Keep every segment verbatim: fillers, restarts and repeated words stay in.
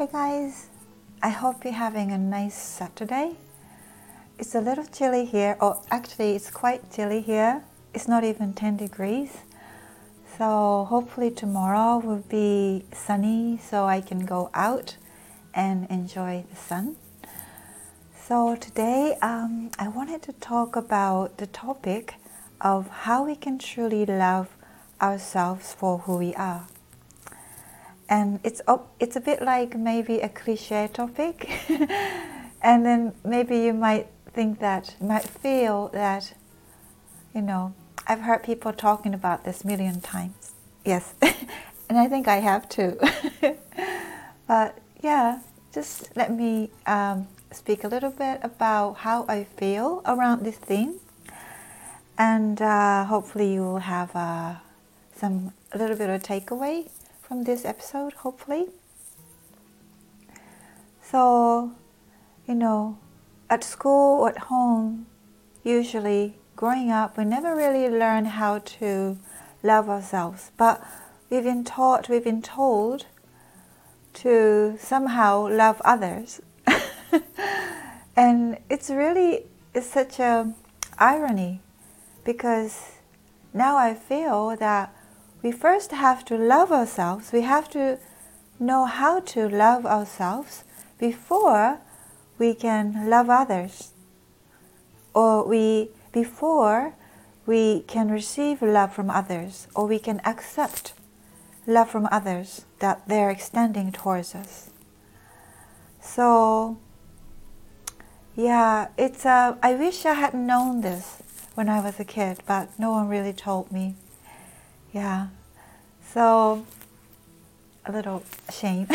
Hey guys, I hope you're having a nice Saturday. It's a little chilly here, or actually it's quite chilly here. It's not even ten degrees. So hopefully tomorrow will be sunny so I can go out and enjoy the sun. So today um, I wanted to talk about the topic of how we can truly love ourselves for who we are. And it's it's a bit like maybe a cliche topic, and then maybe you might think that, might feel that, you know, I've heard people talking about this a million times. Yes, and I think I have too. But yeah, just let me um, speak a little bit about how I feel around this theme, and uh, hopefully you will have uh, some a little bit of takeaway from this episode, hopefully. So, you know, at school or at home, usually growing up, we never really learn how to love ourselves, but we've been taught, we've been told to somehow love others. And it's really, it's such a irony, because now I feel that we first have to love ourselves. We have to know how to love ourselves before we can love others, or we before we can receive love from others, or we can accept love from others that they're extending towards us. So yeah, it's uh, I wish I had known this when I was a kid, but no one really told me. Yeah, so a little shame.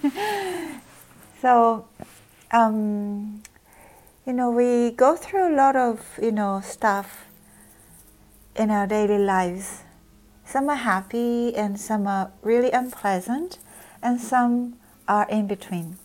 So, um, you know, we go through a lot of, you know, stuff in our daily lives. Some are happy and some are really unpleasant, and some are in between.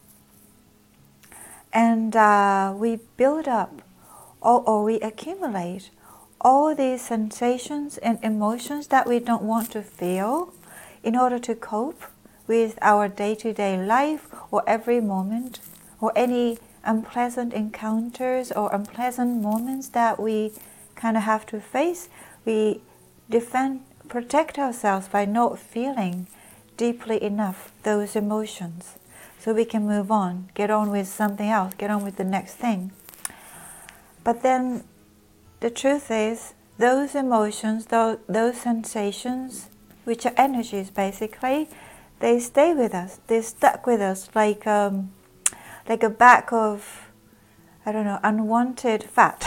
And uh, we build up, or, or we accumulate all these sensations and emotions that we don't want to feel in order to cope with our day-to-day life, or every moment, or any unpleasant encounters or unpleasant moments that we kind of have to face. We defend, protect ourselves by not feeling deeply enough those emotions, so we can move on, get on with something else, get on with the next thing. But then the truth is, those emotions, those, those sensations, which are energies basically, they stay with us. They're stuck with us like um, like a bag of, I don't know, unwanted fat.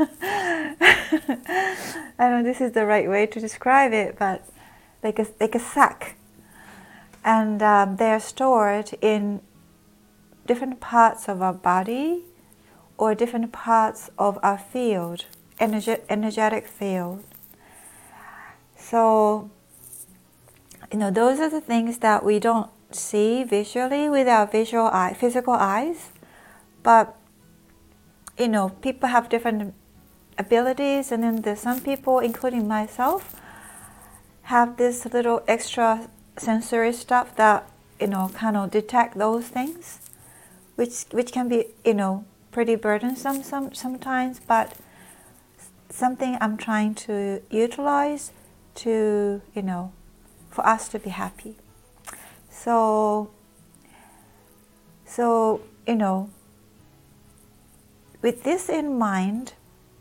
I don't know if this is the right way to describe it, but like a, like a sack. And um, they are stored in different parts of our body, or different parts of our field, energy, energetic field. So, you know, those are the things that we don't see visually with our visual eye, physical eyes. But, you know, people have different abilities, and then there's some people, including myself, have this little extra sensory stuff that, you know, kind of detect those things, which which can be, you know, pretty burdensome some, sometimes, but something I'm trying to utilize to, you know, for us to be happy. So, so, you know, with this in mind,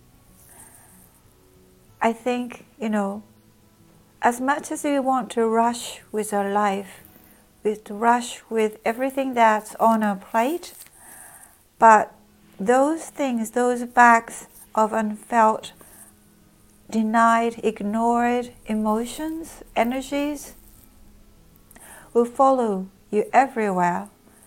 I think, you know, as much as we want to rush with our life, with to rush with everything that's on our plate, but those things, those bags of unfelt, denied, ignored emotions, energies, will follow you everywhere.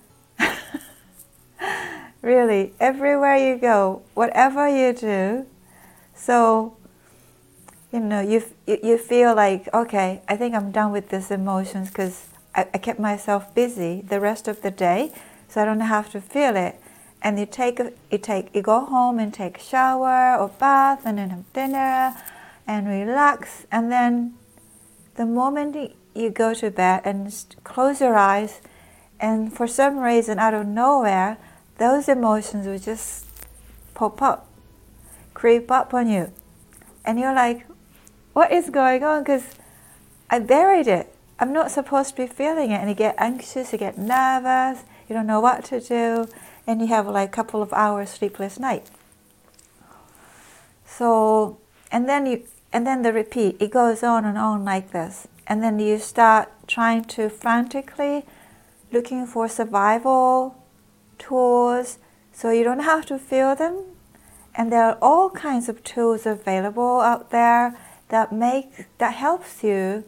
Really, everywhere you go, whatever you do. So, you know, you you feel like, okay, I think I'm done with these emotions, because I, I kept myself busy the rest of the day, so I don't have to feel it. And you take a, you take you go home and take a shower or bath, and then have dinner and relax, and then the moment you go to bed and close your eyes And for some reason, out of nowhere, those emotions will just pop up, creep up on you. And you're like, what is going on? Because I buried it. I'm not supposed to be feeling it. And you get anxious, you get nervous, you don't know what to do, and you have like a couple of hours sleepless night. So, and then you, and then the repeat, it goes on and on like this. And then you start trying to frantically looking for survival tools so you don't have to feel them. And there are all kinds of tools available out there that make, that helps you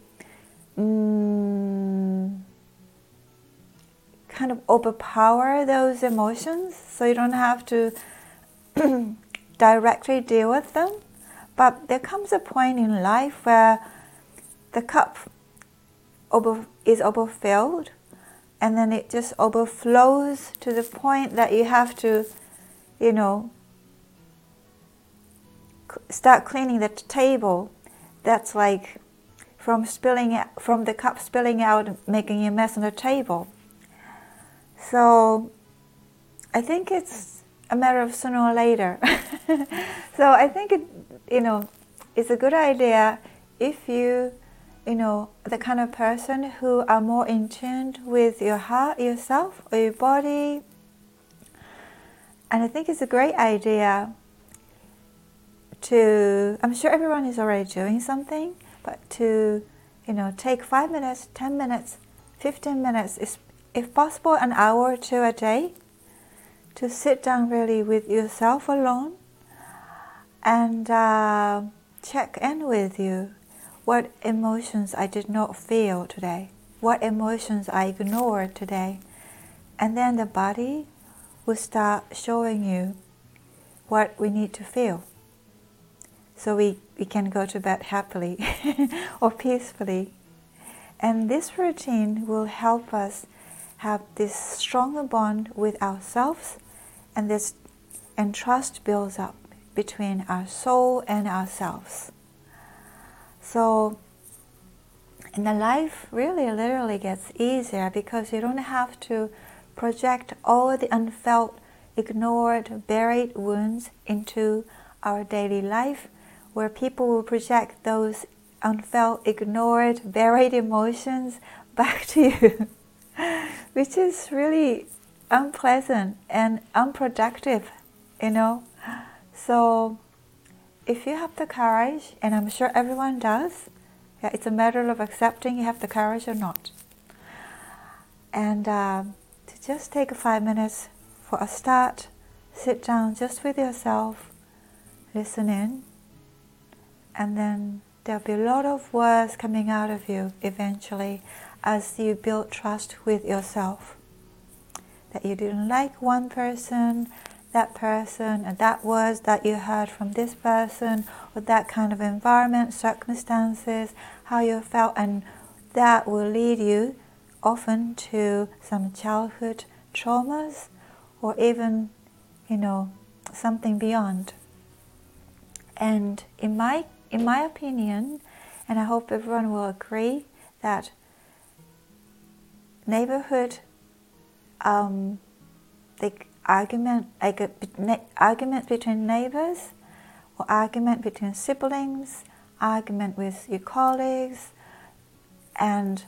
mm, kind of overpower those emotions so you don't have to directly deal with them. But there comes a point in life where the cup over, is overfilled, and then it just overflows to the point that you have to, you know, start cleaning the table. That's like from spilling it, from the cup spilling out and making a mess on the table. So I think it's a matter of sooner or later. So I think it, you know, it's a good idea if you, you know, the kind of person who are more in tune with your heart, yourself, or your body. And I think it's a great idea to, I'm sure everyone is already doing something, but to, you know, take five minutes, ten minutes, fifteen minutes, if possible an hour or two a day, to sit down really with yourself alone and uh, check in with you. What emotions I did not feel today? What emotions I ignored today? And then the body will start showing you what we need to feel. So we, we can go to bed happily or peacefully. And this routine will help us have this stronger bond with ourselves, and this and trust builds up between our soul and ourselves. So, and the life really literally gets easier because you don't have to project all the unfelt, ignored, buried wounds into our daily life, where people will project those unfelt, ignored, buried emotions back to you, which is really unpleasant and unproductive, you know. So if you have the courage, and I'm sure everyone does, yeah, it's a matter of accepting you have the courage or not. And uh, to just take five minutes for a start, sit down just with yourself, listen in, and then there'll be a lot of words coming out of you eventually as you build trust with yourself. That you didn't like one person, that person, and that words that you heard from this person, or that kind of environment, circumstances, how you felt, and that will lead you often to some childhood traumas, or even, you know, something beyond. And in my in my opinion, and I hope everyone will agree, that neighborhood, um, the argument, like a, argument between neighbors, or argument between siblings, argument with your colleagues, and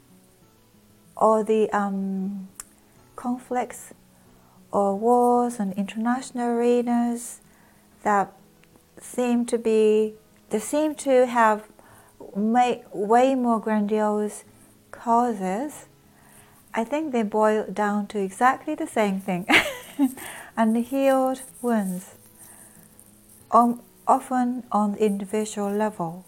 all the um, conflicts or wars on international arenas that seem to be, they seem to have may, way more grandiose causes. I think they boil down to exactly the same thing. Unhealed wounds, um, often on the individual level.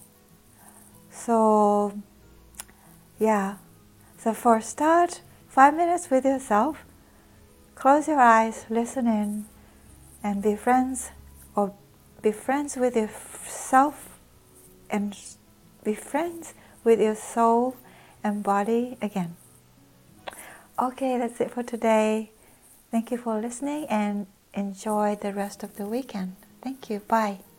So, yeah. So for a start, five minutes with yourself, close your eyes, listen in, and be friends, or be friends with yourself, and be friends with your soul and body again. Okay, that's it for today. Thank you for listening and enjoy the rest of the weekend. Thank you. Bye.